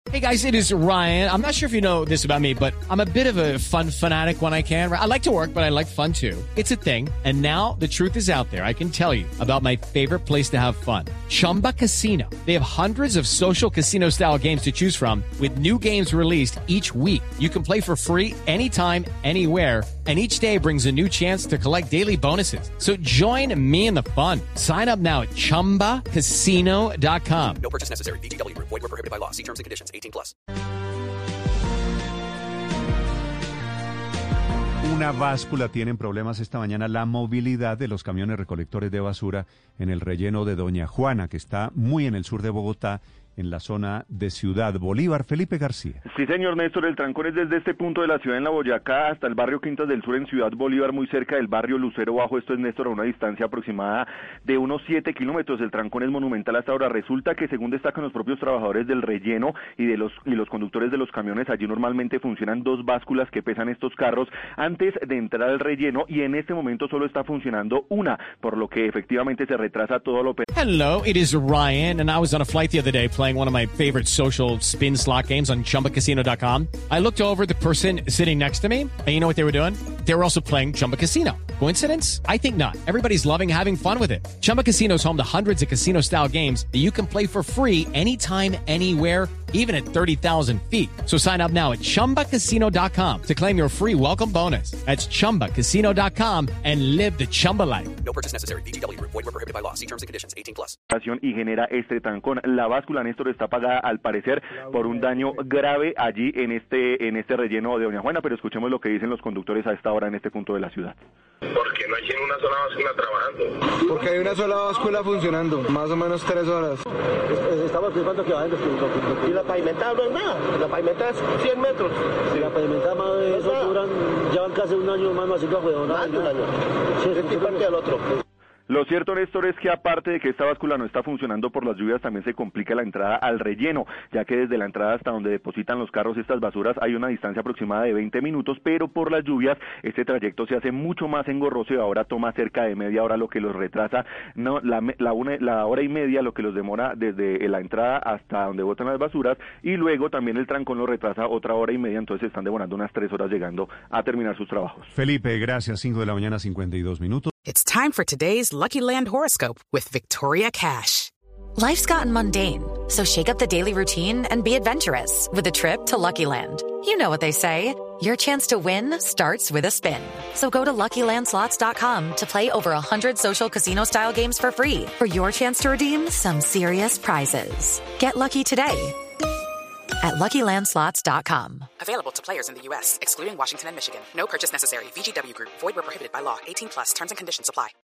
Hey guys, it is Ryan. I'm not sure if you know this about me, but I'm a bit of a fun fanatic when I can. I like to work, but I like fun too. It's a thing. And now the truth is out there. I can tell you about my favorite place to have fun. Chumba Casino. They have hundreds of social casino style games to choose from with new games released each week. You can play for free anytime, anywhere. And each day brings a new chance to collect daily bonuses. So join me in the fun. Sign up now at ChumbaCasino.com. No purchase necessary. VGW Group. Void where prohibited by law. See terms and conditions. 18+. Una báscula tiene problemas esta mañana la movilidad de los camiones recolectores de basura en el relleno de Doña Juana, que está muy en el sur de Bogotá, en la zona de Ciudad Bolívar. Felipe García. Sí, señor Néstor, el trancón es desde este punto de la ciudad en La Boyacá hasta el barrio Quintas del Sur en Ciudad Bolívar, muy cerca del barrio Lucero Bajo. Esto es, Néstor, a una distancia aproximada de unos 7 kilómetros. El trancón es monumental hasta ahora. Resulta que, según destacan los propios trabajadores del relleno y los conductores de los camiones, allí normalmente funcionan 2 básculas que pesan estos carros antes de entrar al relleno, y en este momento solo está funcionando una, por lo que efectivamente se retrasa todo lo. Hello, it is Ryan, and I was on a flight the other day playing one of my favorite social spin slot games on ChumbaCasino.com. I looked over at the person sitting next to me, and you know what they were doing? They were also playing Chumba Casino. Coincidence? I think not. Everybody's loving having fun with it. Chumba Casino is home to hundreds of casino-style games that you can play for free anytime, anywhere, even at 30,000 feet. So sign up now at ChumbaCasino.com to claim your free welcome bonus. That's ChumbaCasino.com and live the Chumba life. No purchase necessary. VGW Group. Void where prohibited by law. See terms and conditions. 18+. Y genera este trancón. La báscula, Néstor, está apagada al parecer por un daño grave allí en este relleno de Doña Juana, pero escuchemos lo que dicen los conductores a esta hora en este punto de la ciudad. Porque no hay sino una sola báscula trabajando. Porque hay una sola báscula funcionando, más o menos 3 horas. Estamos pensando que vayan y la pavimentada no es nada, la pavimentada es 100 metros. Si la pavimentada más de eso duran, llevan casi un año más, así que fue un año. Sí, es parte del otro. Lo cierto, Néstor, es que aparte de que esta báscula no está funcionando por las lluvias, también se complica la entrada al relleno, ya que desde la entrada hasta donde depositan los carros estas basuras hay una distancia aproximada de 20 minutos, pero por las lluvias este trayecto se hace mucho más engorroso y ahora toma cerca de media hora, lo que los retrasa, la hora y media, lo que los demora desde la entrada hasta donde botan las basuras, y luego también el trancón los retrasa otra hora y media, entonces están demorando unas 3 horas llegando a terminar sus trabajos. Felipe, gracias. 5 de la mañana, 52 minutos. It's time for today's Lucky Land horoscope with Victoria Cash. Life's gotten mundane, so shake up the daily routine and be adventurous with a trip to Lucky Land. You know what they say, your chance to win starts with a spin. So go to LuckyLandSlots.com to play over 100 social casino-style games for free for your chance to redeem some serious prizes. Get lucky today at LuckyLandSlots.com. Available to players in the U.S., excluding Washington and Michigan. No purchase necessary. VGW Group. Void where prohibited by law. 18+. Terms and conditions apply.